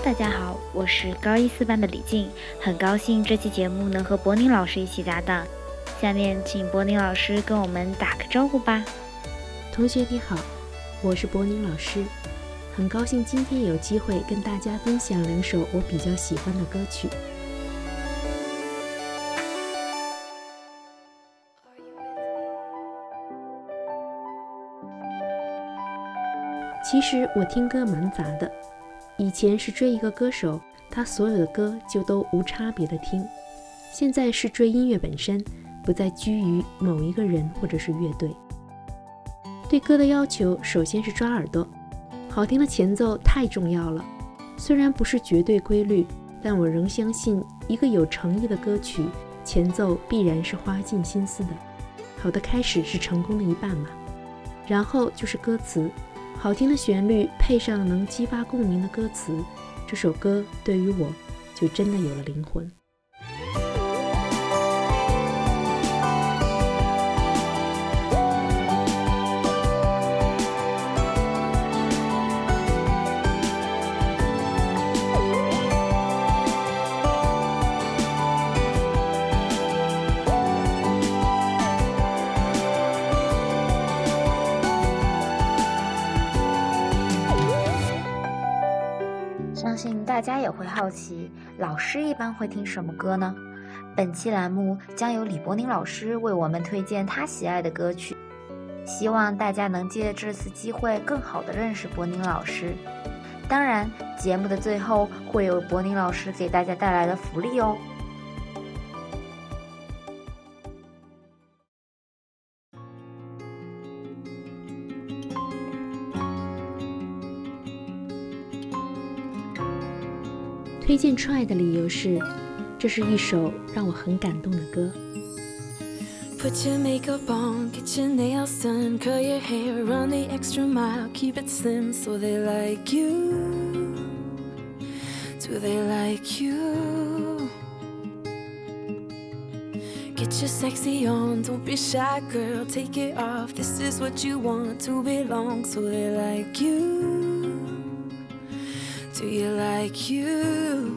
大家好，我是高一4班的李静，很高兴这期节目能和柏宁老师一起搭档。下面请柏宁老师跟我们打个招呼吧。 同学你好，我是柏宁老师，很高兴今天有机会跟大家分享2首我比较喜欢的歌曲。其实我听歌蛮杂的，以前是追一个歌手，他所有的歌就都无差别的听，现在是追音乐本身，不再拘于某一个人或者是乐队。对歌的要求首先是抓耳朵，好听的前奏太重要了，虽然不是绝对规律，但我仍相信一个有诚意的歌曲前奏必然是花尽心思的，好的开始是成功的一半嘛。然后就是歌词，好听的旋律配上能激发共鸣的歌词，这首歌对于我就真的有了灵魂。 相信大家也会好奇，老师一般会听什么歌呢？本期栏目将由李柏宁老师为我们推荐他喜爱的歌曲，希望大家能借这次机会更好地认识柏宁老师。当然，节目的最后会有柏宁老师给大家带来的福利哦。 推荐 Try 的理由是，这是一首让我很感动的歌。 Put your makeup on, get your nails done, curl your hair, run the extra mile, keep it slim so they like you. Do they like you? Get your sexy on, don't be shy girl, take it off, this is what you want to belong, so they like you. Do you like you?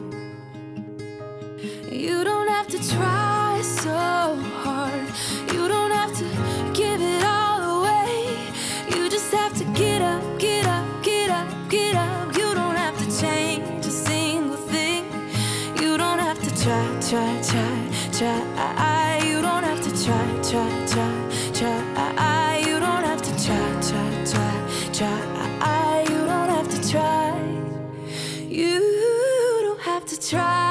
You don't have to try so hard, you don't have to give it all away, you just have to get up, get up, get up, get up. You don't have to change a single thing, you don't have to try, try, try, try. You don't have to try, try, try, try. You don't have to try, try, try, try. You don't have to try, you don't have to try.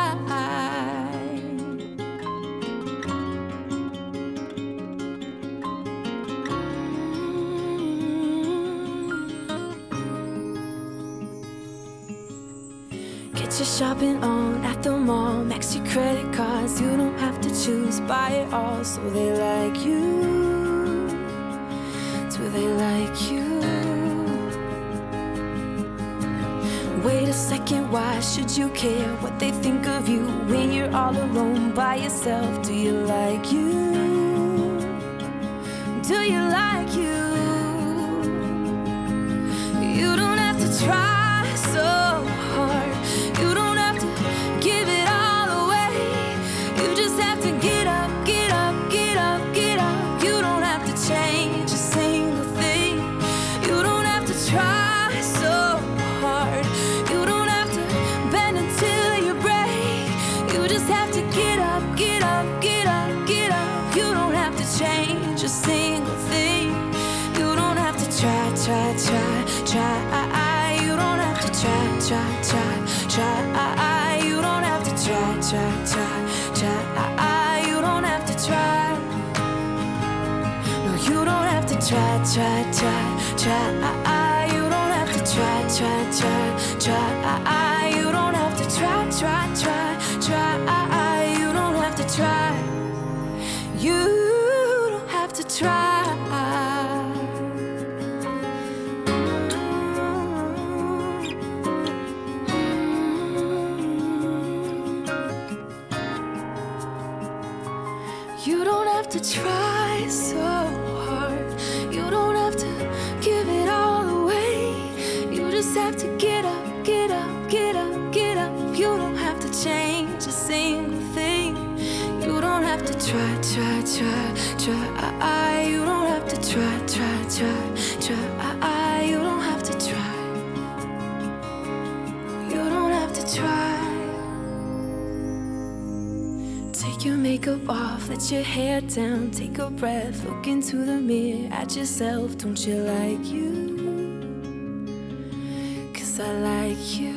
Get your shopping on at the mall, max your credit cards, you don't have to choose, buy it all, so they like you. Do they like you? Wait a second, why should you care what they think of you when you're all alone by yourself? Do you like you? Do you like you? You don't have to try so hard, you don't have to give it all away, you just have to get up, get up, get up, get up. You don't have to change a single thing, you don't have to try so hard, you don't have to bend until you break, you just have to get up, get up, get up, get up. You don't have to change a single thing, you don't have to try, try, try, try. You don't have to try, try, try, try. You don't have to try, try, try, try. You don't have to try. No, you don't have to try, try, try, try. You don't have to try, try, try, try. You don't have to try, try, try, try. You don't have to try. You don't have to try. You don't have to try so hard, you don't have to give it all away, you just have to get up, get up, get up, get up. makeup off, let your hair down, take a breath, look into the mirror at yourself. Don't you like you? 'Cause I like you.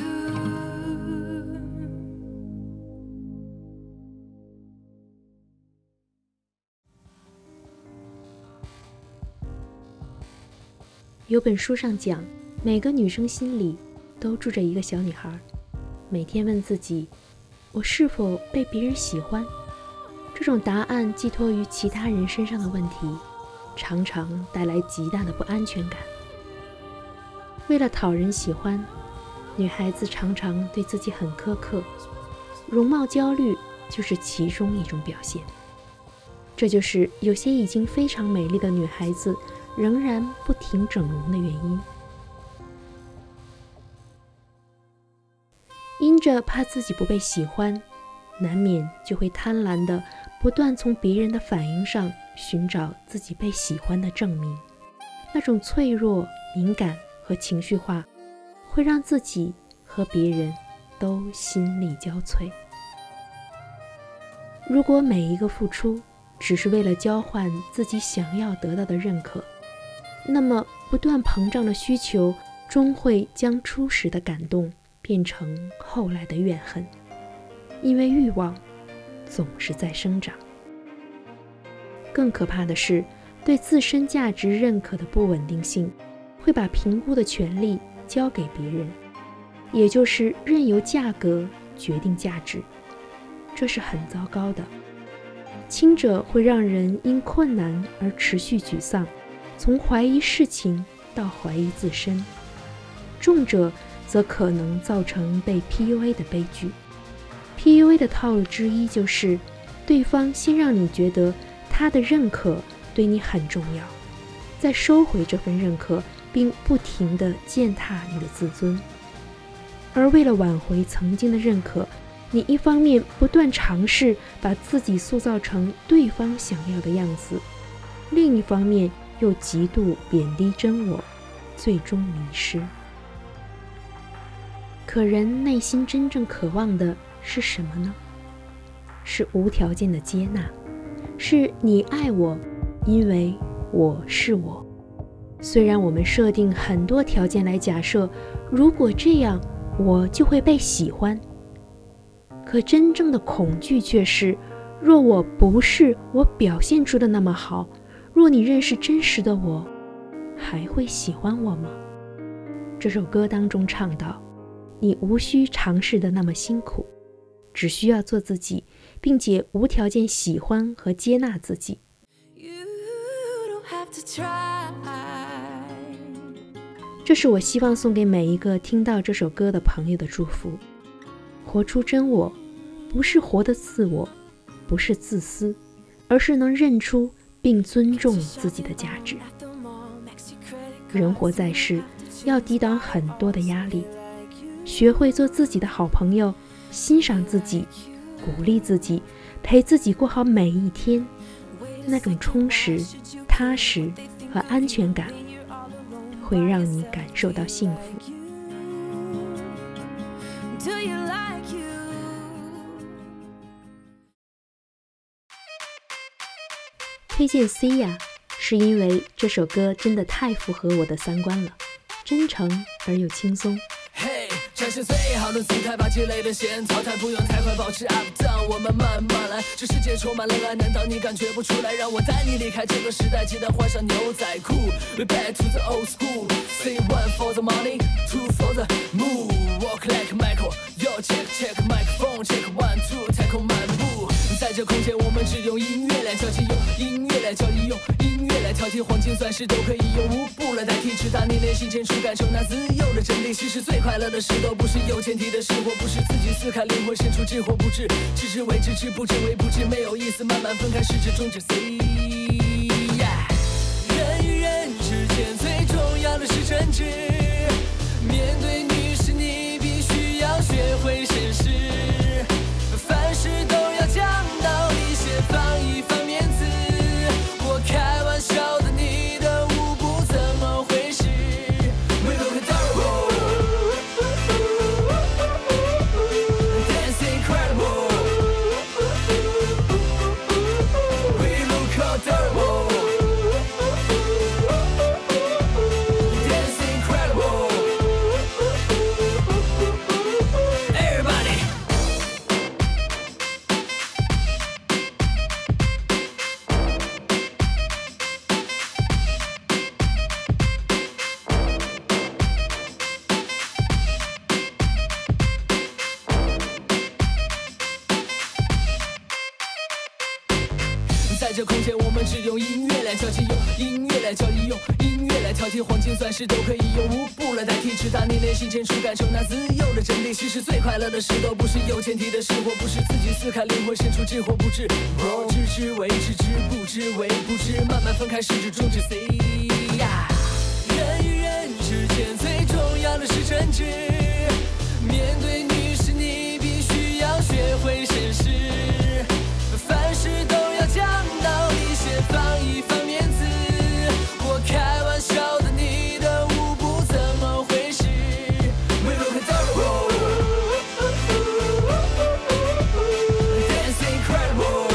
有本书上讲，每个女生心里都住着一个小女孩，每天问自己，我是否被别人喜欢？这种答案寄托于其他人身上的问题，常常带来极大的不安全感。为了讨人喜欢，女孩子常常对自己很苛刻，容貌焦虑就是其中一种表现。这就是有些已经非常美丽的女孩子仍然不停整容的原因。因着怕自己不被喜欢，难免就会贪婪地不断从别人的反应上寻找自己被喜欢的证明。那种脆弱、敏感和情绪化，会让自己和别人都心力交瘁。如果每一个付出只是为了交换自己想要得到的认可，那么不断膨胀的需求终会将初始的感动变成后来的怨恨，因为欲望总是在生长。更可怕的是，对自身价值认可的不稳定性会把评估的权利交给别人，也就是任由价格决定价值。这是很糟糕的。轻者会让人因困难而持续沮丧，从怀疑事情到怀疑自身；重者则可能造成被 PUA 的悲剧。PUA 的套路之一就是，对方先让你觉得他的认可对你很重要，再收回这份认可，并不停地践踏你的自尊。而为了挽回曾经的认可，你一方面不断尝试把自己塑造成对方想要的样子，另一方面又极度贬低真我，最终迷失。可人内心真正渴望的是什么呢？是无条件的接纳，是你爱我，因为我是我。虽然我们设定很多条件来假设，如果这样，我就会被喜欢。可真正的恐惧却是，若我不是我表现出的那么好，若你认识真实的我，还会喜欢我吗？这首歌当中唱到，你无需尝试的那么辛苦，只需要做自己，并且无条件喜欢和接纳自己。这是我希望送给每一个听到这首歌的朋友的祝福。活出真我，不是活得自我，不是自私，而是能认出并尊重自己的价值。人活在世，要抵挡很多的压力，学会做自己的好朋友，欣赏自己，鼓励自己，陪自己过好每一天，那种充实、踏实和安全感，会让你感受到幸福。推荐 Sia 是因为这首歌真的太符合我的三观了，真诚而又轻松。 展现最好的姿态，把积累的线淘汰，不用太快，保持 up down， 我们慢慢来。这世界充满了爱，难道你感觉不出来？让我带你离开这个时代，记得换上牛仔裤。We back to the old school. Say one for the money, two for the move. Walk like Michael, yo check check microphone check one two， 太空漫步。在这空间，我们只用音乐来交际，用音乐来交易，用音乐来调剂，黄金钻石都可以用舞步来代替，直达你内心深处，感受那自由的真谛。其实最快乐的事都不是有前提的事，或不是自己撕开灵魂深处知或不知，知之为知，知不知为不知，没有意思，慢慢分开，是至终止 C。人与人之间最重要的是真挚，面对女士你必须要学会绅士，凡事都要讲道理，先放一放面子。我开玩笑的，你的舞步怎么回事？ We look adorable, dance incredible. 这空间，我们只用音乐来交际，用音乐来交易，用音乐来调剂，黄金钻石都可以用舞步来代替，直达你内心深处，感受那自由的真谛。其实最快乐的事都不是有前提的事，或不是自己撕开灵魂深处知或不知，知之为知，知不知为不知，慢慢分开始至终止 C。人与人之间最重要的是真挚，面对女士你必须要学会绅士，凡事都要讲道理，先放一放面子。我开玩笑的，你的舞步怎么回事 ？We look adorable, dance incredible.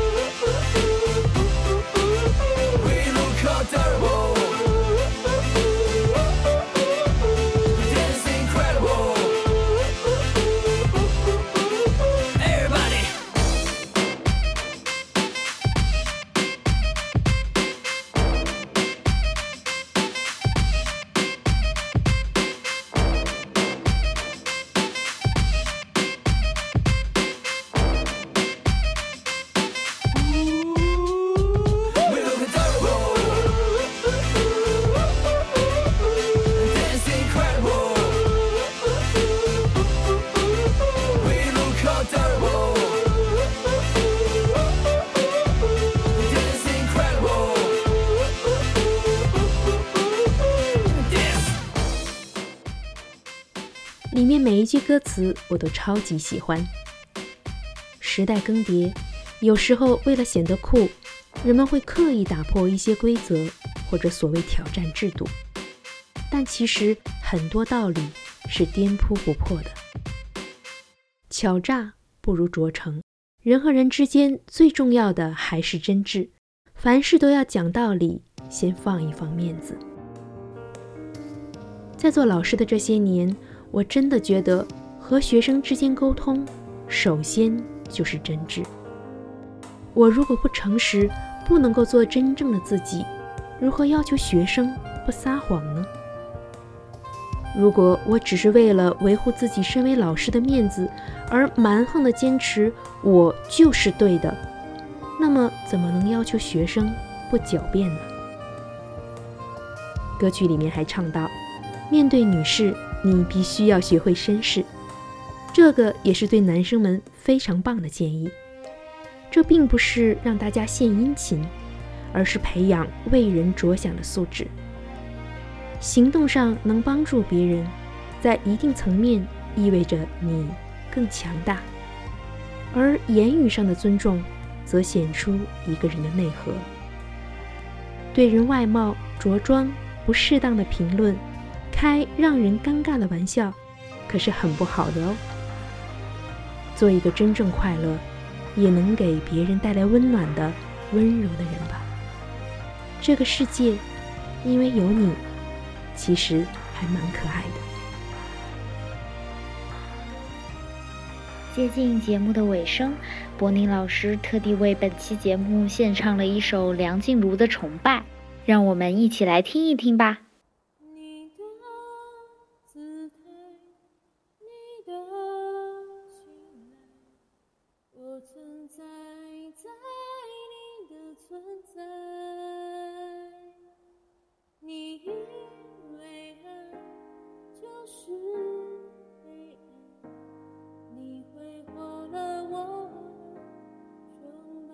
We look adorable, dance incredible. Everybody. 里面每一句歌词我都超级喜欢。时代更迭，有时候为了显得酷，人们会刻意打破一些规则，或者所谓挑战制度，但其实很多道理是颠扑不破的。巧诈不如拙诚，人和人之间最重要的还是真挚，凡事都要讲道理，先放一放面子。在做老师的这些年，我真的觉得和学生之间沟通，首先就是真挚。我如果不诚实，不能够做真正的自己，如何要求学生不撒谎呢？如果我只是为了维护自己身为老师的面子，而蛮横地坚持我就是对的，那么怎么能要求学生不狡辩呢？歌曲里面还唱到，面对女士，你必须要学会绅士，这个也是对男生们非常棒的建议。这并不是让大家献殷勤，而是培养为人着想的素质。行动上能帮助别人，在一定层面意味着你更强大，而言语上的尊重则显出一个人的内核。对人外貌、着装不适当的评论，开让人尴尬的玩笑，可是很不好的哦。做一个真正快乐，也能给别人带来温暖的温柔的人吧。这个世界因为有你，其实还蛮可爱的。 接近节目的尾声，柏宁老师特地为本期节目献唱了一首梁静茹的《崇拜》，让我们一起来听一听吧。 你的姿态，你的信赖，我存在在你的存在，你以为爱就是黑暗，你挥霍了我崇拜。 。 。。。。。。。。。。。。。。。。。。。。。。。。。。。。。。。。。。。。。。。。。。。。。。。。。。。。。。。。。。。。。。。。。。。。。。。。。。。。。。。。。。。。。。。。。。。。。。。。。。。。。。。。。。。。。。。。。。。。。。。。。。。。。。。。。。。。。。。。。。。。。。。。。。。。。。。。。。。。。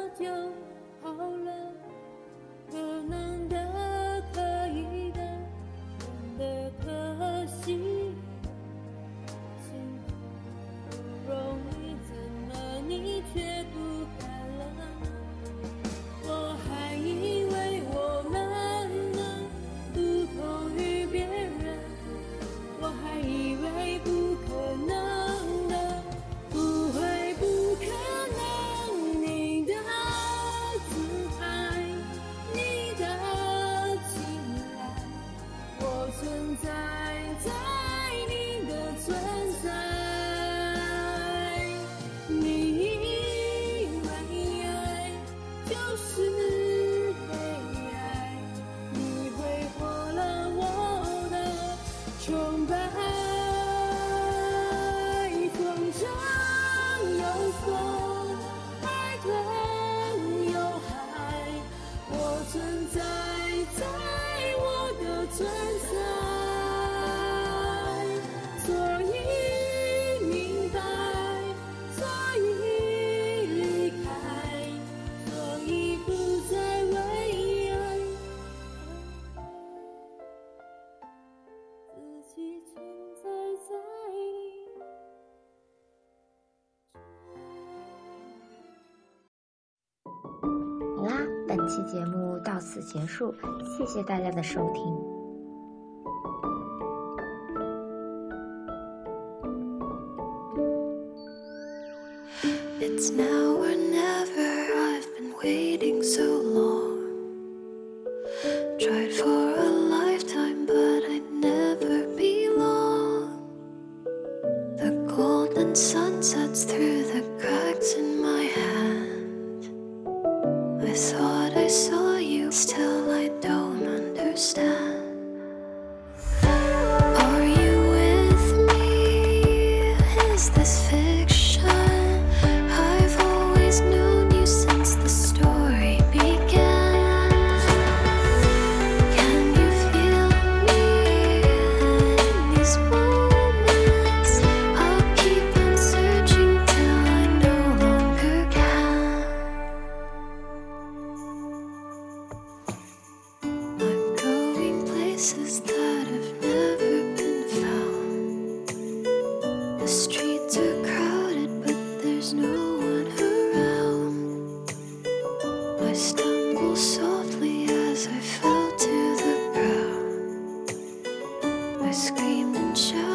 就好了，可能的、可以的、真的可惜。幸福不容易，怎么你却不敢了？我还以为我们能不同于别人，我还以为不可能的，不会不可能。你的姿态，你的青睐，我存在在你的存在。你以为爱就是被爱，你挥霍了我的崇拜。风中有风，海中有海，我存在在我的存在，所以明白，所以离开，所以不再为爱自己存在在好啦，本期节目到此结束，谢谢大家的收听。 It's now or never, I've been waiting so long. Tried for a lifetime, but I'd never belong. The golden sun sets through the cracks in my hand. I thought I saw you, still I don't understand. Are you with me? Is this fiction? I've always known you since the story began. Can you feel me in these moments? I'll keep on searching till I no longer can. I'm going places that have never been found. The streets are crowded, but there's no one around. I stumble softly as I fell to the ground. I screamed and shouted.